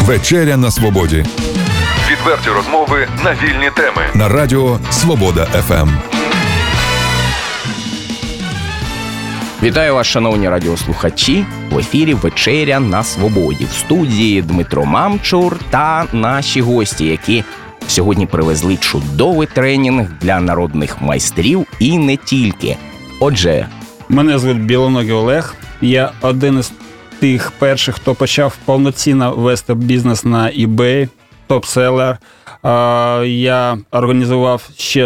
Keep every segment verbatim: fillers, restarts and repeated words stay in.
Вечеря на свободі. Відверті розмови на вільні теми. На радіо Свобода еф ем. Вітаю вас, шановні радіослухачі. В ефірі «Вечеря на свободі». В студії Дмитро Мамчур та наші гості, які сьогодні привезли чудовий тренінг для народних майстрів і не тільки. Отже... Мене звуть Білоногий Олег. Я один із тих перших, хто почав повноцінно вести бізнес на eBay, топ-селер. Я організував ще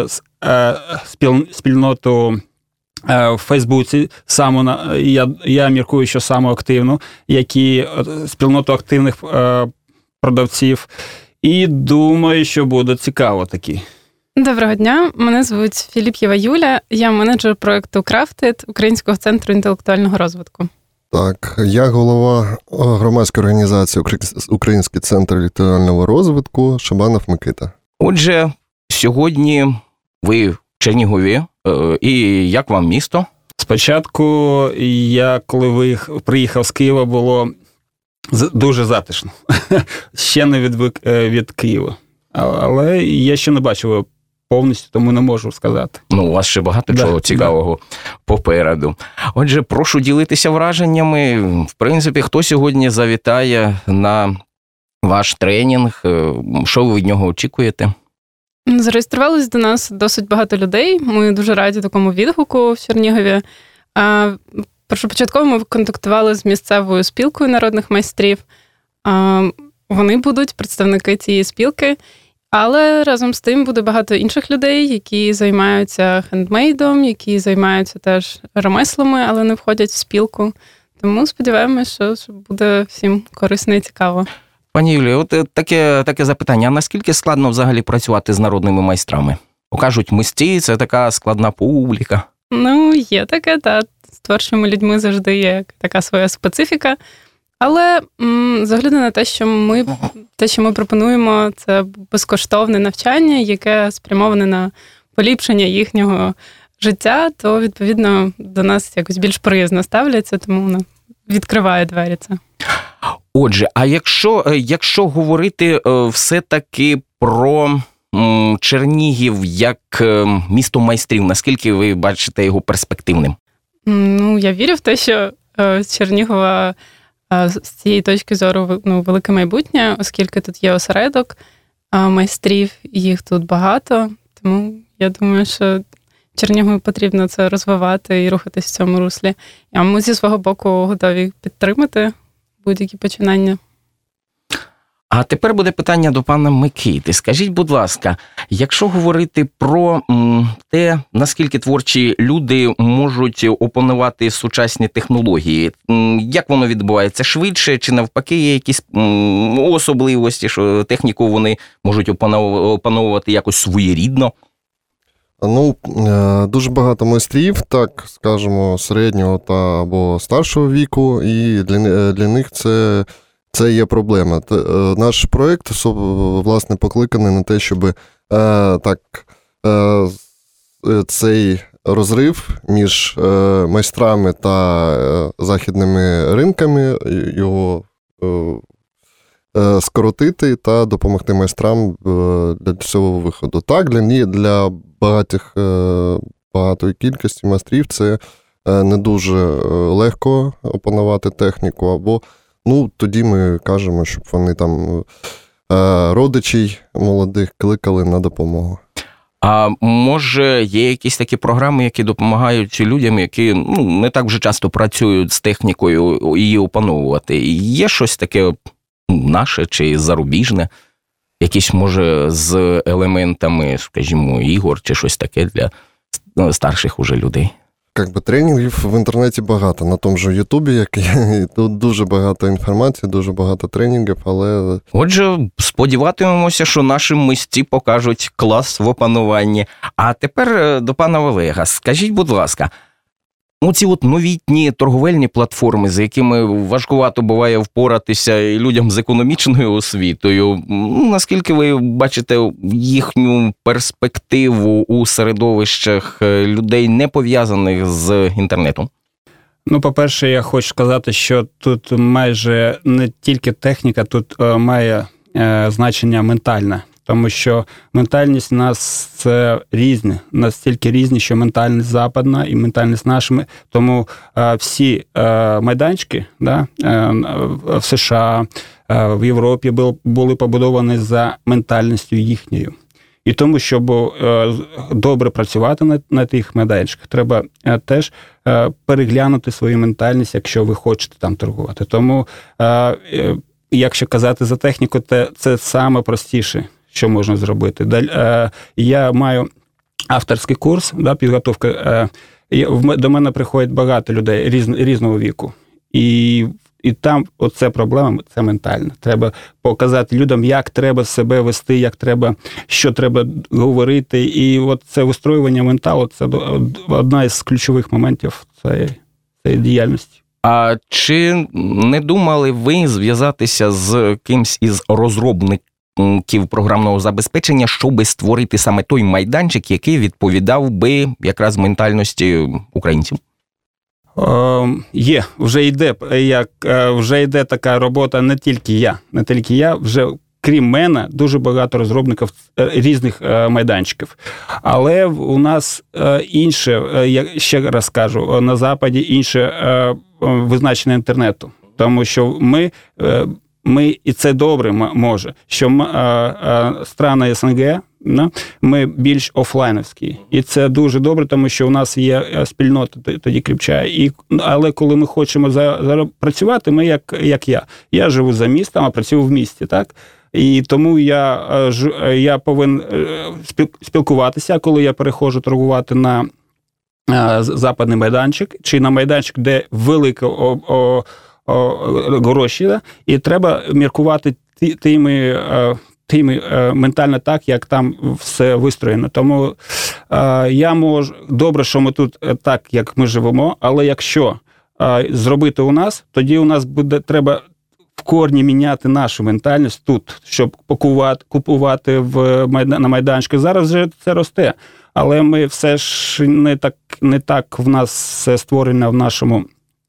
спільноту в Фейсбуці, саму, я, я міркую, що саму активну, які спільноту активних продавців. І думаю, що буде цікаво такі. Доброго дня, мене звуть Філіп'єва Юля, я менеджер проєкту Crafted Українського центру інтелектуального розвитку. Так, я голова громадської організації Український центр інтелектуального розвитку Шабанов Микита. Отже, сьогодні ви в Чернігові, і як вам місто? Спочатку я, коли виїхав, приїхав з Києва, було дуже затишно. Ще не відвик від Києва. Але я ще не бачив його повністю, тому не можу сказати. Ну, у вас ще багато да, чого цікавого да. попереду. Отже, прошу ділитися враженнями. В принципі, хто сьогодні завітає на ваш тренінг? Що ви від нього очікуєте? Зареєструвалось до нас досить багато людей. Ми дуже раді такому відгуку в Чернігові. Першопочатково ми контактували з місцевою спілкою народних майстрів. Вони будуть представники цієї спілки, але разом з тим буде багато інших людей, які займаються хендмейдом, які займаються теж ремеслами, але не входять в спілку. Тому сподіваємося, що буде всім корисно і цікаво. Пані Юлію, от таке, таке запитання. А наскільки складно взагалі працювати з народними майстрами? Кажуть, мисці – це така складна публіка. Ну, є таке, так. З творчими людьми завжди є така своя специфіка. Але м, з огляду на те, що ми, те, що ми пропонуємо, це безкоштовне навчання, яке спрямоване на поліпшення їхнього життя, то, відповідно, до нас якось більш приязно ставляться, тому воно відкриває двері це. Отже, а якщо, якщо говорити все-таки про м, Чернігів як місто майстрів, наскільки ви бачите його перспективним? Ну, я вірю в те, що е, з Чернігова е, з цієї точки зору ну, велике майбутнє, оскільки тут є осередок е, майстрів, їх тут багато, тому я думаю, що Чернігову потрібно це розвивати і рухатись в цьому руслі. А ми зі свого боку готові підтримати будь-які починання. А тепер буде питання до пана Микити. Скажіть, будь ласка, якщо говорити про м, те, наскільки творчі люди можуть опанувати сучасні технології, м, як воно відбувається? Швидше чи навпаки є якісь м, особливості, що техніку вони можуть опановувати якось своєрідно? Ну, дуже багато майстрів, так, скажімо, середнього та або старшого віку, і для, для них це... Це є проблема. Наш проєкт, власне, покликаний на те, щоб е, так, е, цей розрив між е, майстрами та е, західними ринками його е, скоротити та допомогти майстрам е, для цього виходу. Так, для, для багатих, е, багатої кількості майстрів це е, не дуже легко опанувати техніку, або ну, тоді ми кажемо, щоб вони там родичів молодих кликали на допомогу. А може є якісь такі програми, які допомагають людям, які ну, не так вже часто працюють з технікою, її опановувати? Є щось таке наше чи зарубіжне? Якісь, може, з елементами, скажімо, ігор чи щось таке для старших уже людей? Как би тренінгів в інтернеті багато, на тому ж Ютубі, як є, тут дуже багато інформації, дуже багато тренінгів, але... Отже, сподіватимемося, що наші мисці покажуть клас в опануванні. А тепер до пана Олега. Скажіть, будь ласка, оці от новітні торговельні платформи, з якими важкувато буває впоратися і людям з економічною освітою, наскільки ви бачите їхню перспективу у середовищах людей, не пов'язаних з інтернетом? Ну, по-перше, я хочу сказати, що тут майже не тільки техніка, тут е, має е, значення ментальне. Тому що ментальність у нас це різні, настільки різні, що ментальність западна і ментальність нашими. Тому е, всі е, майданчики да, е, в США, е, в Європі були, були побудовані за ментальністю їхньою. І тому, щоб е, добре працювати на, на тих майданчиках, треба е, теж е, переглянути свою ментальність, якщо ви хочете там торгувати. Тому, е, е, якщо казати за техніку, це, це саме простіше, що можна зробити. Я маю авторський курс, да, підготовка. До мене приходять багато людей різ, різного віку. І, і там оце проблема, це ментальна. Треба показати людям, як треба себе вести, як треба, що треба говорити. І от це вистроювання менталу, це одна із ключових моментів цієї, цієї діяльності. А чи не думали ви зв'язатися з кимсь із розробників програмного забезпечення, щоб створити саме той майданчик, який відповідав би якраз ментальності українців? Е, є, вже йде, як, вже йде така робота, не тільки я, не тільки я, вже крім мене, дуже багато розробників різних майданчиків. Але у нас інше, я ще раз кажу, на Западі інше визначення інтернету, тому що ми Ми, і це добре може, що ми, а, а, страни СНГ, да, ми більш офлайновські. І це дуже добре, тому що у нас є спільнота тоді кріпчає. І, але коли ми хочемо за, за працювати, ми як, як я. Я живу за містом, а працюю в місті, так? І тому я, я повинен спілкуватися, коли я переходжу торгувати на западний майданчик, чи на майданчик, де велика о, о, гроші, да? І треба міркувати тими, тими ментально так, як там все вистроєно. Тому е, я можу, добре, що ми тут так, як ми живемо, але якщо е, зробити у нас, тоді у нас буде, треба в корні міняти нашу ментальність тут, щоб купувати, купувати в, на майданчику. Зараз вже це росте, але ми все ж не так, не так в нас все створено в нашому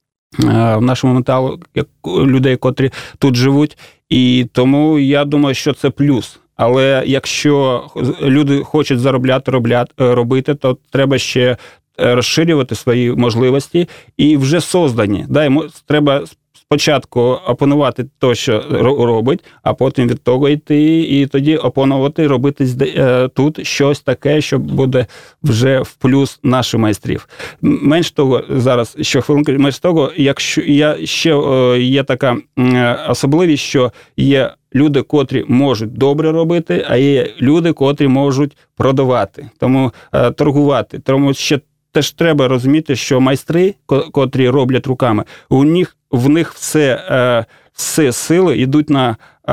в нашому менталу, як людей, котрі тут живуть, і тому я думаю, що це плюс. Але якщо люди хочуть заробляти, робляти, робити, то треба ще розширювати свої можливості і вже создані. Да, йому треба спочатку опанувати те, що робить, а потім від того йти, і тоді опанувати, робити тут щось таке, що буде вже в плюс наших майстрів. Менш того, зараз, що хвилинку, менш того, якщо я, ще є така особливість, що є люди, котрі можуть добре робити, а є люди, котрі можуть продавати, тому торгувати. Тому ще теж треба розуміти, що майстри, котрі роблять руками, у них в них все, все сили йдуть на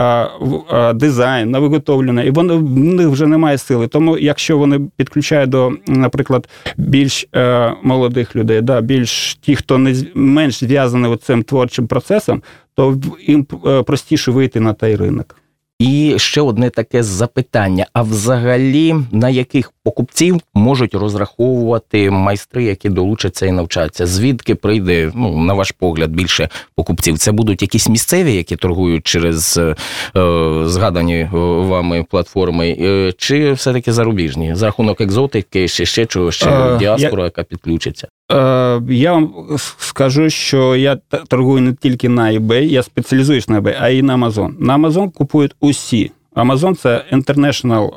дизайн, на виготовлення, і вони, в них вже немає сили. Тому якщо вони підключають до, наприклад, більш молодих людей, да, більш ті, хто не менш зв'язаний цим творчим процесом, то їм простіше вийти на той ринок. І ще одне таке запитання. А взагалі, на яких покупців можуть розраховувати майстри, які долучаться і навчаться? Звідки прийде, ну, на ваш погляд, більше покупців? Це будуть якісь місцеві, які торгують через е, згадані вами платформи, е, чи все-таки зарубіжні? За рахунок екзотики, ще, ще чого, ще е, діаспора, я... яка підключиться? Я вам скажу, що я торгую не тільки на eBay, я спеціалізуюсь на eBay, а й на Amazon. На Amazon купують усі. Amazon – це international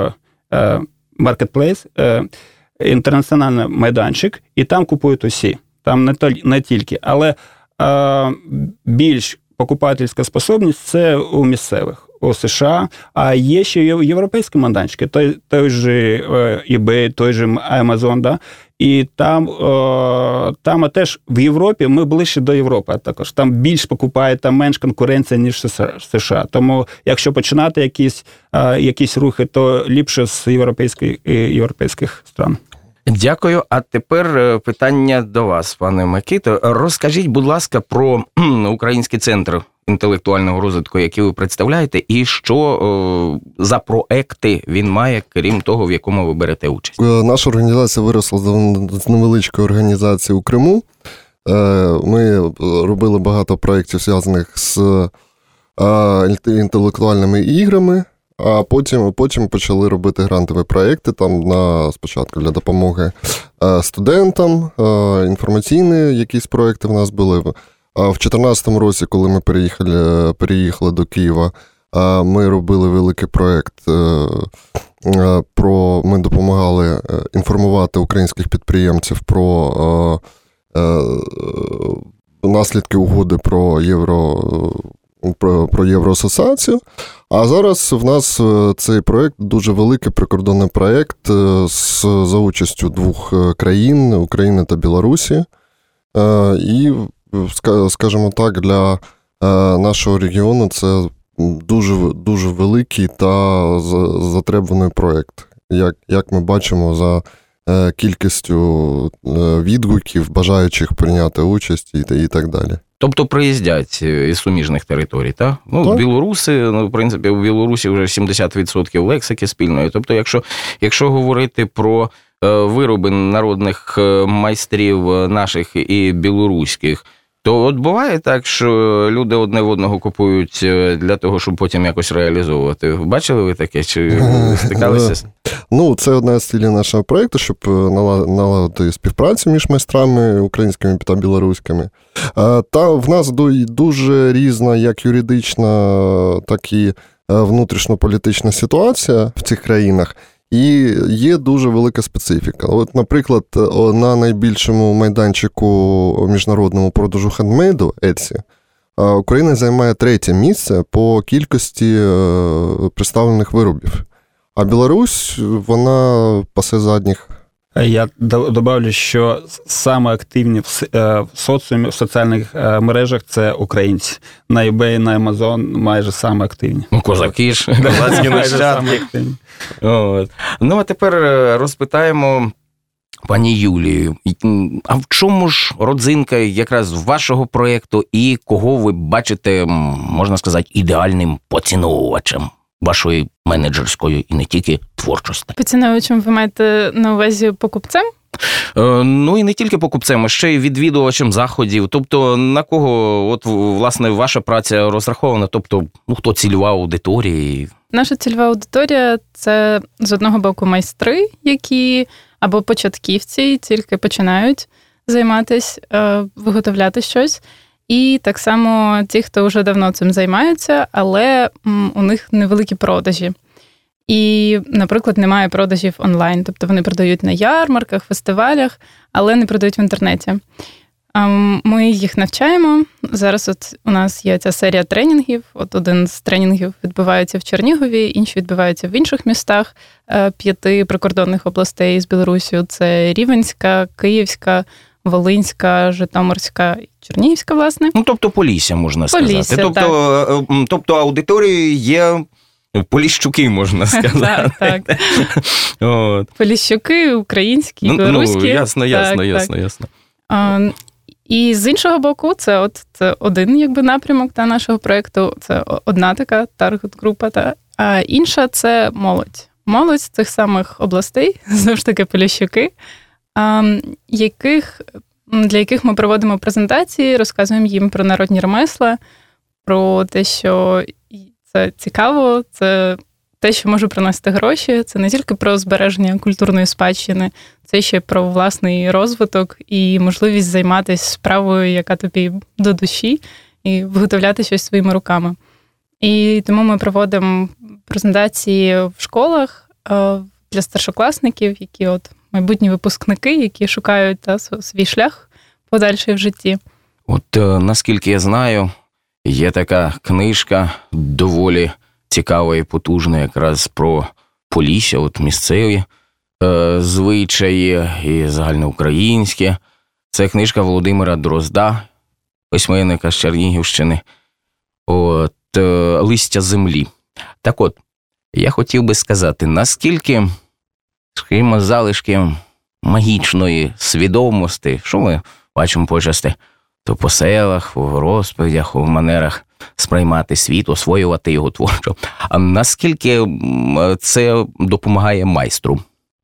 marketplace, інтернаціональний майданчик, і там купують усі. Там не, то, не тільки, але більш покупательська способність – це у місцевих, у США, а є ще європейські майданчики, той, той же eBay, той же Amazon, да? І там, о, там теж в Європі ми ближче до Європи, а також там більш покупає, там менш конкуренція, ніж в США. Тому якщо починати якісь, а, якісь рухи, то ліпше з європейських, європейських стран. Дякую. А тепер питання до вас, пане Микито. Розкажіть, будь ласка, про Український центр інтелектуального розвитку, який ви представляєте, і що о, за проекти він має, крім того, в якому ви берете участь? Наша організація виросла з невеличкої організації у Криму. Ми робили багато проєктів, зв'язаних з інтелектуальними іграми, а потім, потім почали робити грантові проєкти, там на, спочатку для допомоги студентам, інформаційні якісь проєкти в нас були. А в дві тисячі чотирнадцятому році, коли ми переїхали, переїхали до Києва, ми робили великий проєкт про, ми допомагали інформувати українських підприємців про наслідки угоди про євро, про, про Євроасоціацію. А зараз в нас цей проєкт дуже великий прикордонний проєкт з, за участю двох країн, України та Білорусі. І, скажімо так, для нашого регіону це дуже, дуже великий та затребуваний проєкт. Як, як ми бачимо за кількістю відгуків, бажаючих прийняти участь і, і так далі. Тобто приїздять із суміжних територій, так? Ну, так. Білоруси, ну, в принципі, у Білорусі вже сімдесят відсотків лексики спільної. Тобто, якщо, якщо говорити про вироби народних майстрів наших і білоруських, то от буває так, що люди одне в одного купують для того, щоб потім якось реалізовувати. Бачили ви таке? Чи стикалися? Ну, це одна з цілей нашого проєкту, щоб наладити співпрацю між майстрами українськими та білоруськими. Та в нас дуже різна як юридична, так і внутрішньополітична ситуація в цих країнах. І є дуже велика специфіка. От, наприклад, на найбільшому майданчику міжнародному продажу хендмейду Etsy Україна займає третє місце по кількості представлених виробів. А Білорусь, вона пасе задніх. Я добавлю, що саме активні в соціумі, в соціальних мережах – це українці. На eBay, на Amazon майже саме активні. Ну, козаки ж, козацькі нащадки. Ну, а тепер розпитаємо пані Юлію. А в чому ж родзинка якраз вашого проєкту і кого ви бачите, можна сказати, ідеальним поціновувачем вашої менеджерської і не тільки творчості? Поціновувачем ви маєте на увазі покупцем? Е, ну і не тільки покупцем, а ще й відвідувачем заходів. Тобто на кого, от, власне, ваша праця розрахована? Тобто, ну, хто цільова аудиторія? Наша цільова аудиторія – це, з одного боку, майстри, які або початківці, тільки починають займатися, е, виготовляти щось. І так само ті, хто вже давно цим займаються, але у них невеликі продажі. І, наприклад, немає продажів онлайн. Тобто вони продають на ярмарках, фестивалях, але не продають в інтернеті. Ми їх навчаємо. Зараз от у нас є ця серія тренінгів. От один з тренінгів відбувається в Чернігові, інші відбуваються в інших містах п'яти прикордонних областей з Білорусію. Це Рівненська, Київська, Волинська, Житомирська і Чернігівська, власне. Ну, тобто Полісся, можна Полісся, сказати. Тобто, так. тобто аудиторією є поліщуки, можна сказати. Так, так. От. Поліщуки, українські, ну, білоруські. Ну, ясно, ясно, так, ясно, так. ясно. А, і з іншого боку, це от це один якби напрямок та, нашого проєкту. Це одна така таргет-група. Та. А інша – це молодь. Молодь з цих самих областей, знову ж таки, поліщуки, а, яких, для яких ми проводимо презентації, розказуємо їм про народні ремесла, про те, що це цікаво, це те, що може приносити гроші. Це не тільки про збереження культурної спадщини, це ще про власний розвиток і можливість займатися справою, яка тобі до душі, і виготовляти щось своїми руками. І тому ми проводимо презентації в школах для старшокласників, які от майбутні випускники, які шукають та, свій шлях подальший в житті. От наскільки я знаю, є така книжка доволі цікава і потужна якраз про Полісся, от місцеві е, звичаї і загальноукраїнські. Це книжка Володимира Дрозда, письменника з Чернігівщини, от, е, «Листя землі». Так от, я хотів би сказати, наскільки, скажімо, залишки магічної свідомості, що ми бачимо почасти, то по селах, в розповідях, в манерах сприймати світ, освоювати його творчо. А наскільки це допомагає майстру?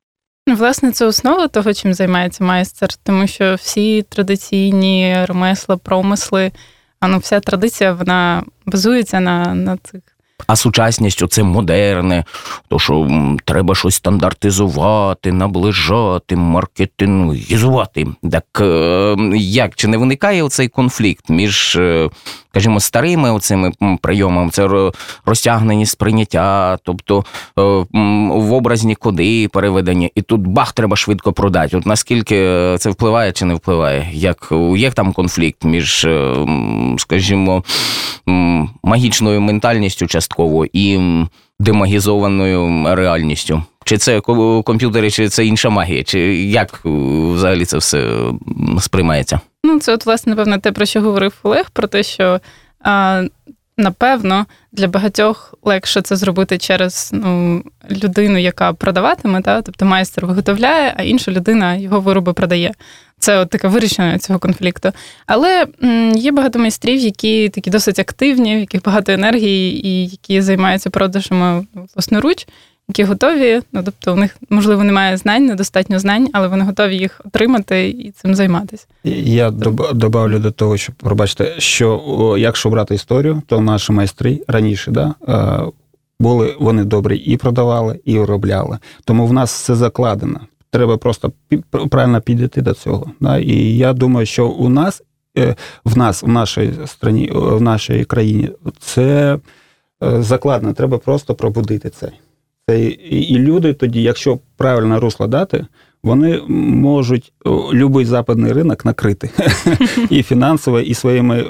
Власне, це основа того, чим займається майстер, тому що всі традиційні ремесла, промисли, а ну, вся традиція, вона базується на, на цих. А сучасність, оце модерне, то що м, треба щось стандартизувати, наближати, маркетингізувати. Так е, як, чи не виникає оцей конфлікт між, е, скажімо, старими оцими прийомами, це розтягнені сприйняття, тобто е, м, в образні коди переведення, і тут бах, треба швидко продати. От наскільки це впливає чи не впливає? Як, є там конфлікт між, е, скажімо, м, магічною ментальністю частково і демагізованою реальністю? Чи це комп'ютери, чи це інша магія? Чи як взагалі це все сприймається? Ну, це от, власне, напевно, те, про що говорив Олег, про те, що, а, напевно, для багатьох легше це зробити через ну, людину, яка продаватиме, та? Тобто майстер виготовляє, а інша людина його вироби продає. Це от таке вирішення цього конфлікту. Але м, є багато майстрів, які такі досить активні, в яких багато енергії і які займаються продажами власноруч, які готові, ну, тобто у них, можливо, немає знань, недостатньо знань, але вони готові їх отримати і цим займатися. Я добавлю до того, що, пробачте, що о, якщо брати історію, то наші майстри раніше, да, були, вони добрі і продавали, і виробляли. Тому в нас все закладено. Треба просто правильно підійти до цього. Да? І я думаю, що у нас, в нас, в нашій країні, в нашій країні, це закладено. Треба просто пробудити це. це. І люди тоді, якщо правильно русло дати, вони можуть будь-який западний ринок накрити. І фінансово, і своїми,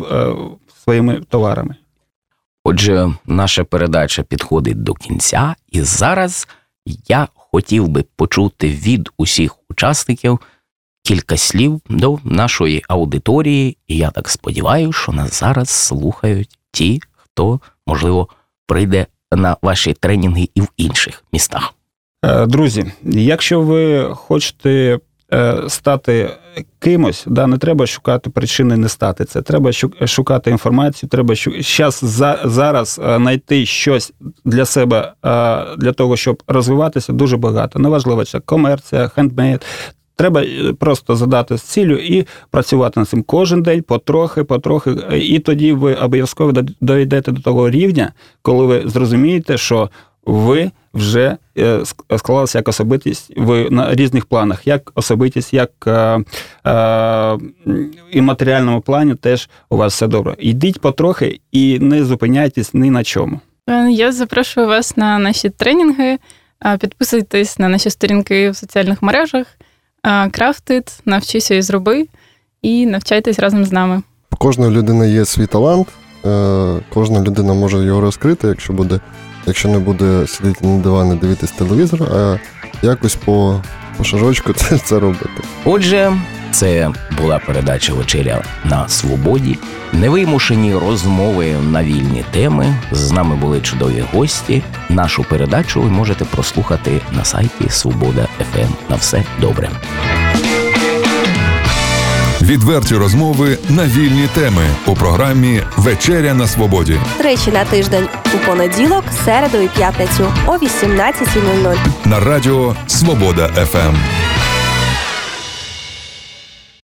своїми товарами. Отже, наша передача підходить до кінця, і зараз я хотів би почути від усіх учасників кілька слів до нашої аудиторії, і я так сподіваюся, що нас зараз слухають ті, хто, можливо, прийде на ваші тренінги і в інших містах. Друзі, якщо ви хочете стати кимось, да, не треба шукати причини не стати це. Треба шукати інформацію, треба щас, за, зараз знайти щось для себе, для того, щоб розвиватися, дуже багато. Неважливо, це комерція, хендмейд. Треба просто задати з ціллю і працювати над цим кожен день, потрохи, потрохи. І тоді ви обов'язково дійдете до того рівня, коли ви зрозумієте, що ви вже склалися як особистість ви на різних планах, як особистість, як е, е, і в матеріальному плані теж у вас все добре. Йдіть потрохи і не зупиняйтесь ні на чому. Я запрошую вас на наші тренінги, підписуйтесь на наші сторінки в соціальних мережах, крафтит, навчися і зроби, і навчайтесь разом з нами. У кожної людини є свій талант, кожна людина може його розкрити, якщо буде, якщо не буде сидіти на дивані, дивитись телевізор, а якось по, по шажочку це, це робити. Отже, це була передача «Вечеря на свободі». Невимушені розмови на вільні теми. З нами були чудові гості. Нашу передачу ви можете прослухати на сайті Свобода еф ем. На все добре. Відверті розмови на вільні теми у програмі «Вечеря на свободі». Тричі на тиждень у понеділок, середу і п'ятницю о вісімнадцятій нуль нуль. На радіо «Свобода еф ем».